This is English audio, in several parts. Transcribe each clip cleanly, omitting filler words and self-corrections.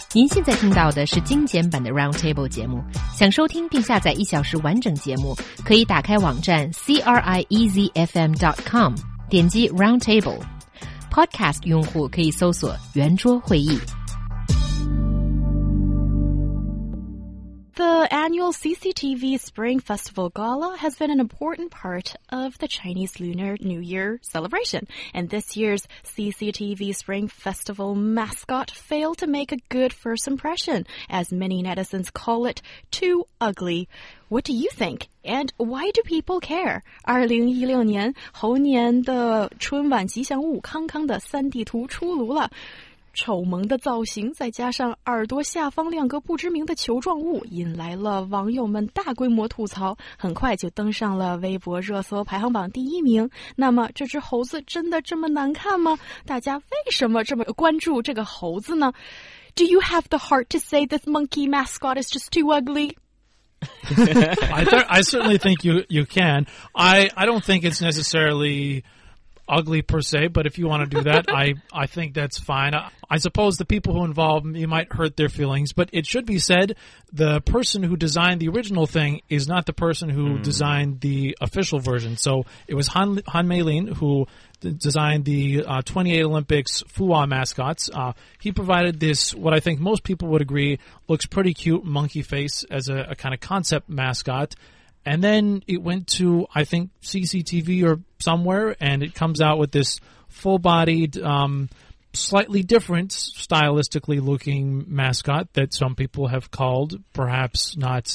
您现在听到的是精简版的 Roundtable 节目。想收听并下载1小时完整节目，可以打开网站 CRIEZFM.com， 点击 Roundtable。Podcast 用户可以搜索圆桌会议。 The annual CCTV Spring Festival Gala has been an important part of the Chinese Lunar New Year celebration, and this year's CCTV Spring Festival mascot failed to make a good first impression, as many netizens call it too ugly. What do you think? And why do people care? 2016年猴年的春晚吉祥物康康的3D 图出炉了。丑萌的造型再加上耳朵下方2个不知名的球状物，引来了网友们大规模吐槽，很快就登上了微博热搜排行榜第1名。那么这只猴子真的这么难看吗？大家为什么这么关注这个猴子呢？ Do you have the heart to say this monkey mascot is just too ugly? I certainly think you can. I don't think it's necessarily ugly per se, but if you want to do that, I think that's fine. I suppose the people who involve you might hurt their feelings, but it should be said the person who designed the original thing is not the person who designed the official version. So it was Han Meilin who designed the 28 Olympics Fuwa mascots. He provided this, what I think most people would agree, looks pretty cute monkey face as a kind of concept mascot. And then it went to, I think, CCTV or somewhere, and it comes out with this full-bodied, slightly different, stylistically looking mascot that some people have called, perhaps not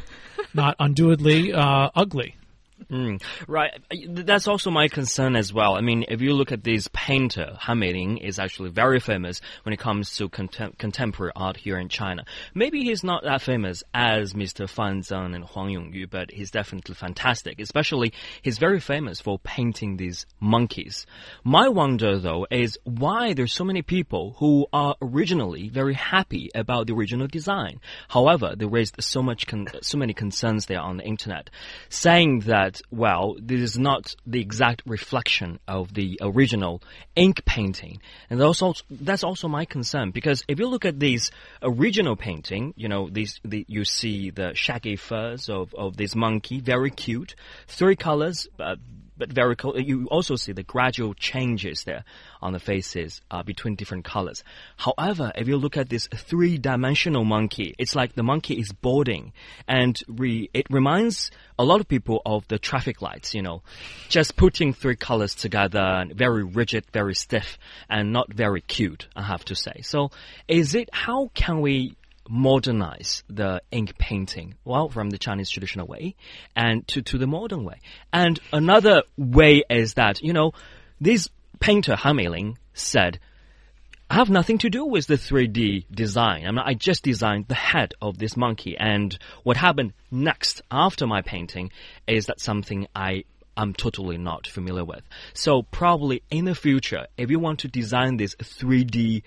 unduly ugly. Right. That's also my concern as well. I mean, if you look at this painter, Han Meilin is actually very famous when it comes to contemporary art here in China. Maybe he's not that famous as Mr. Fan Zeng and Huang Yongyu, but he's definitely fantastic. Especially, he's very famous for painting these monkeys. My wonder, though, is why there's so many people who are originally very happy about the original design. However, they raised so many concerns there on the internet, saying that, well, this is not the exact reflection of the original ink painting. And that's also my concern, because if you look at this original painting, you know, you see the shaggy furs of this monkey, very cute, 3 colors, but very cool. You also see the gradual changes there on the faces between different colors. However, if you look at this 3-dimensional monkey, it's like the monkey is boarding, and it reminds a lot of people of the traffic lights, you know, just putting 3 colors together, very rigid, very stiff, and not very cute, I have to say. So how can we modernize the ink painting? Well, from the Chinese traditional way and to the modern way. And another way is that, you know, this painter, Han Meilin, said, I have nothing to do with the 3D design. I mean, I just designed the head of this monkey, and what happened next after my painting is that something I'm totally not familiar with. So probably in the future, if you want to design this 3D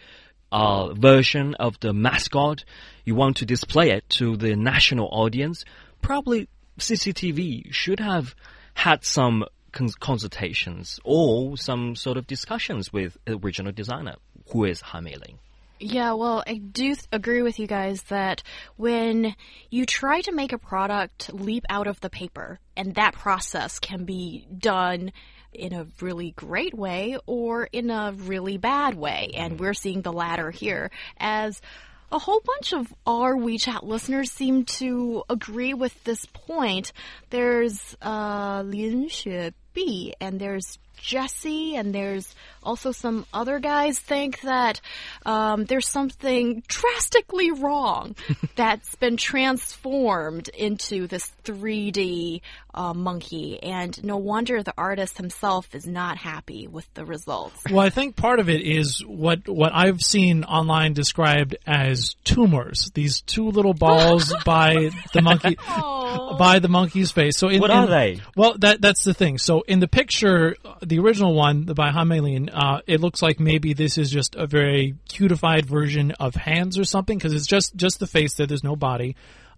version of the mascot, you want to display it to the national audience, probably CCTV should have had some consultations or some sort of discussions with the original designer, who is Han Meilin. Yeah, well, I do agree with you guys that when you try to make a product leap out of the paper, and that process can be done in a really great way or in a really bad way, and we're seeing the latter here, as a whole bunch of our WeChat listeners seem to agree with this point. There's Lin Xuebi, and there's Jesse, and there's also some other guys think that there's something drastically wrong that's been transformed into this 3D monkey, and no wonder the artist himself is not happy with the results. Well, I think part of it is what I've seen online described as tumors. These 2 little balls by the monkey. By the monkey's face. So what are they? Well, that's the thing. So in the picture, the original one by Han Meilin, it looks like maybe this is just a very cutified version of hands or something, because it's just the face there. There's no body.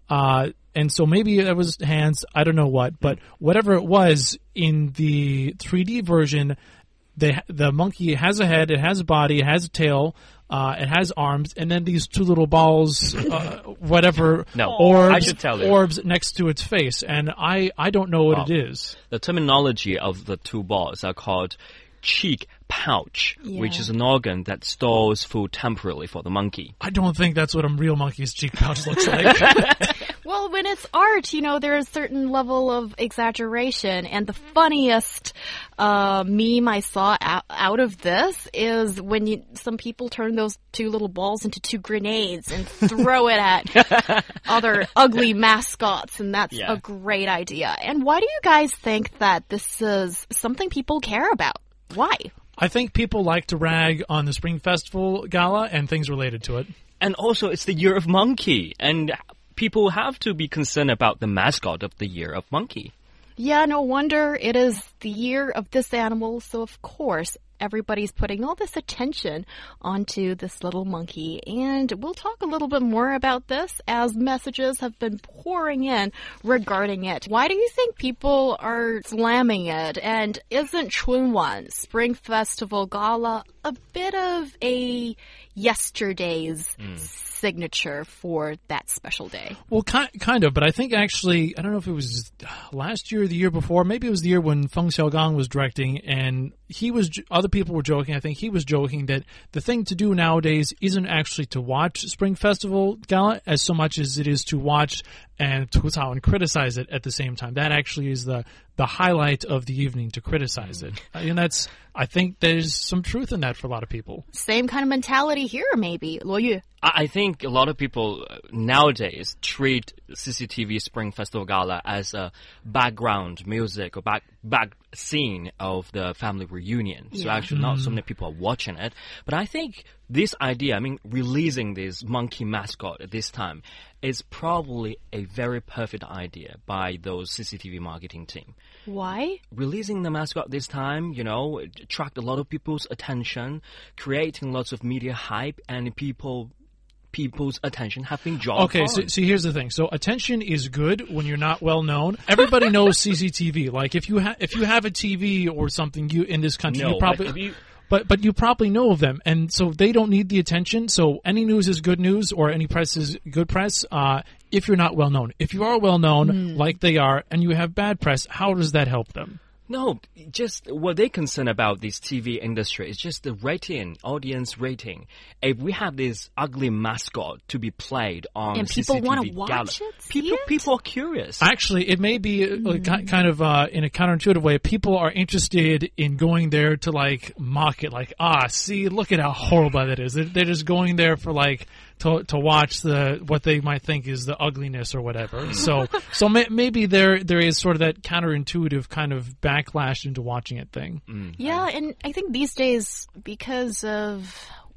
And so maybe it was hands. I don't know what, but whatever it was in the 3D version, the monkey has a head, it has a body, it has a tail. It has arms, and then these two little balls, whatever, No, orbs, I should tell you. orbs next to its face, and I don't know what it is. The terminology of the two balls are called cheek pouch, which is an organ that stores food temporarily for the monkey. I don't think that's what a real monkey's cheek pouch looks like. Well, when it's art, there's a certain level of exaggeration. And the funniest meme I saw out of this is when some people turn those two little balls into two grenades and throw it at other ugly mascots. And that's a great idea. And why do you guys think that this is something people care about? Why? I think people like to rag on the Spring Festival Gala and things related to it. And also, it's the Year of Monkey, and people have to be concerned about the mascot of the Year of Monkey. Yeah, no wonder it is the year of this animal, so of course everybody's putting all this attention onto this little monkey. And we'll talk a little bit more about this as messages have been pouring in regarding it. Why do you think people are slamming it? And isn't Chunwan, Spring Festival Gala, a bit of a yesterday's signature for that special day? Well, kind of, but I think actually, I don't know if it was last year or the year before, maybe it was the year when Feng Xiaogang was directing, and other people were joking, I think he was joking that the thing to do nowadays isn't actually to watch Spring Festival Gala as so much as it is to watch and tucao and criticize it at the same time. That actually is the highlight of the evening, to criticize it. And I think there's some truth in that for a lot of people. Same kind of mentality here, maybe. Luo Yu. I think a lot of people nowadays treat CCTV Spring Festival Gala as a background music or back scene of the family reunion. So actually not so many people are watching it. But I think this idea, releasing this monkey mascot at this time is probably a very perfect idea by those CCTV marketing team. Why? Releasing the mascot this time, attract a lot of people's attention, creating lots of media hype, and people's attention have been drawn. Okay, so here's the thing. So attention is good when you're not well known. Everybody knows CCTV. Like if you have a TV or something, in this country, you probably. But you probably know of them, and so they don't need the attention. So any news is good news, or any press is good press. If you're not well known, if you are well known, like they are, and you have bad press, how does that help them? No, just what they're concerned about this TV industry is just the rating, audience rating. If we have this ugly mascot to be played on and people CCTV want to watch Gala, it, people are curious. Actually, it may be kind of in a counterintuitive way. People are interested in going there to mock it, see, look at how horrible that is. They're just going there for to watch what they might think is the ugliness or whatever. So maybe there is sort of that counterintuitive kind of backlash into watching it thing. Yeah, and I think these days, because of,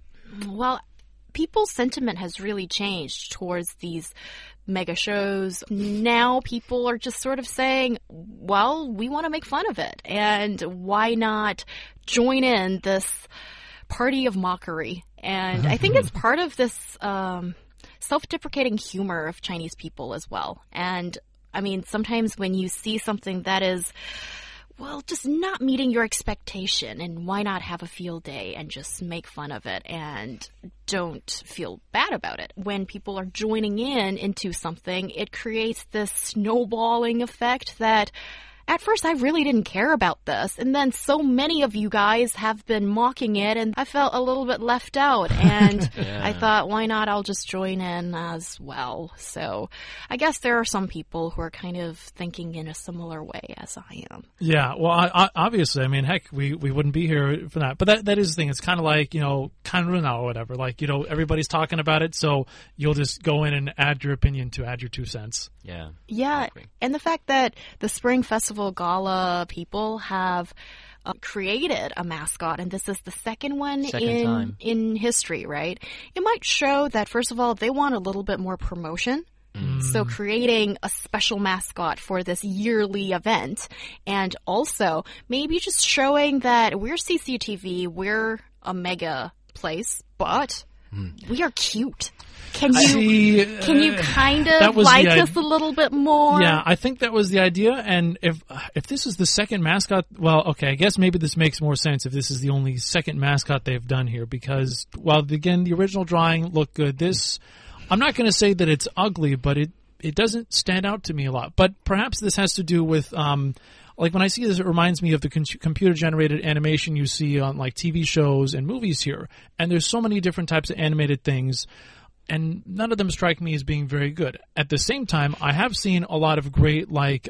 people's sentiment has really changed towards these mega shows. Now people are just sort of saying, well, we want to make fun of it, and why not join in this party of mockery? And I think it's part of this self-deprecating humor of Chinese people as well. And sometimes when you see something that is, just not meeting your expectation, and why not have a field day and just make fun of it and don't feel bad about it. When people are joining into something, it creates this snowballing effect that at first I really didn't care about this, and then so many of you guys have been mocking it, and I felt a little bit left out, and I thought, why not? I'll just join in as well. So I guess there are some people who are kind of thinking in a similar way as I am. Yeah, well, obviously, heck, we wouldn't be here for that. But that is the thing. It's kind of like, kanruna or whatever. Everybody's talking about it, so you'll just go in and add your opinion to add your 2 cents. Yeah, and the fact that the Spring Festival Gala people have created a mascot, and this is the second one in history, right? It might show that, first of all, they want a little bit more promotion. So creating a special mascot for this yearly event, and also maybe just showing that we're CCTV, we're a mega place, but we are cute. Can you kind of like us a little bit more? Yeah, I think that was the idea. And if this is the second mascot, well, okay, I guess maybe this makes more sense if this is the only second mascot they've done here because, well, again, the original drawing looked good. This, I'm not going to say that it's ugly, but it doesn't stand out to me a lot. But perhaps this has to do with like when I see this, it reminds me of the computer-generated animation you see on like TV shows and movies here. And there's so many different types of animated things, and none of them strike me as being very good. At the same time, I have seen a lot of great like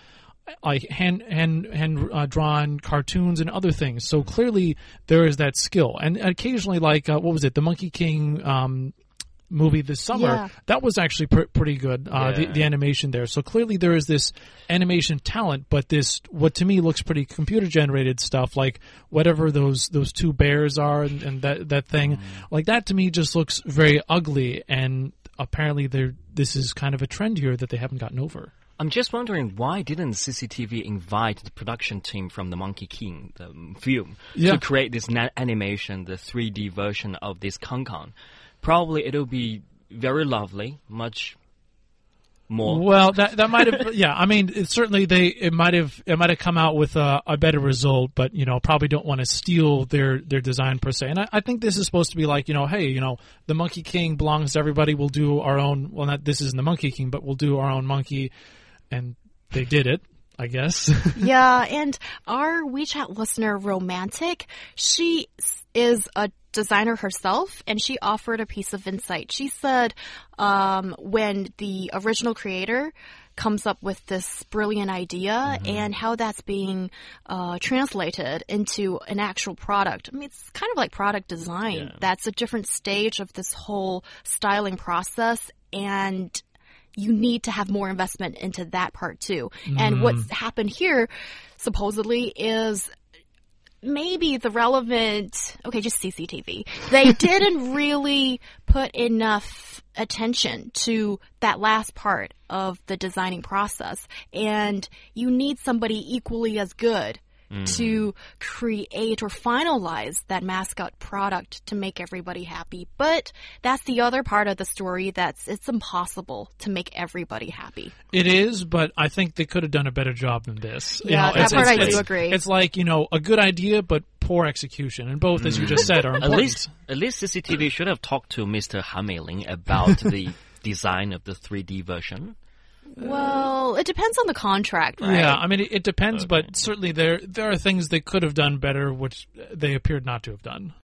hand drawn cartoons and other things. So clearly there is that skill. And occasionally, like what was it, the Monkey King movie this summer, that was actually pretty good, the animation there. So clearly there is this animation talent, but this, what to me looks pretty computer-generated stuff, like whatever those two bears are and that thing, like that to me just looks very ugly, and apparently this is kind of a trend here that they haven't gotten over. I'm just wondering, why didn't CCTV invite the production team from the Monkey King, the film, to create this animation, the 3D version of this Kong? Probably it'll be very lovely, much more. Well, that might have, yeah. I mean, it might have come out with a better result, but probably don't want to steal their design per se. And I think this is supposed to be like, hey, the Monkey King belongs to everybody. We'll do our own. Well, not this isn't the Monkey King, but we'll do our own monkey, and they did it, I guess. Yeah, and our WeChat listener, Romantic, she is a designer herself, and she offered a piece of insight. She said when the original creator comes up with this brilliant idea and how that's being translated into an actual product. I mean, it's kind of like product design. Yeah. That's a different stage of this whole styling process, and you need to have more investment into that part too. And what's happened here, supposedly, is maybe the relevant, just CCTV. They didn't really put enough attention to that last part of the designing process. And you need somebody equally as good to create or finalize that mascot product to make everybody happy. But that's the other part of the story, it's impossible to make everybody happy. It is, but I think they could have done a better job than this. Yeah, that part I do agree. It's like, a good idea, but poor execution. And both, as you just said, are important. At least CCTV should have talked to Mr. Han Meiling about the design of the 3D version. Well, it depends on the contract, right? Yeah, I mean, it depends, but certainly there are things they could have done better, which they appeared not to have done.